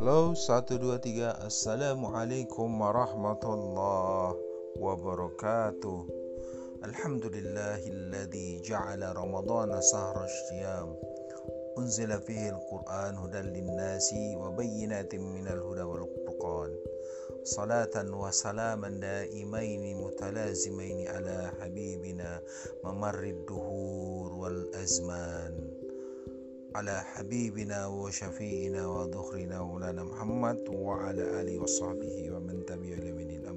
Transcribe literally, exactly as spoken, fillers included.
Halo, satu dua tiga. Assalamualaikum warahmatullahi wabarakatuh. Alhamdulillahilladzi ja'ala ramadana sahra syiyam unzila fihi al-Qur'an hudan lin-nasi wa bayyinatin minal huda wal furqan. Salatan wa salaman daimaini mutalazimaini ala habibina mamarrid duhur wal azman, ala habibina wa syafi'ina wa dhuhrina maulana Muhammad wa ala alihi wa sahbihi wa man tabi'a ila yaumil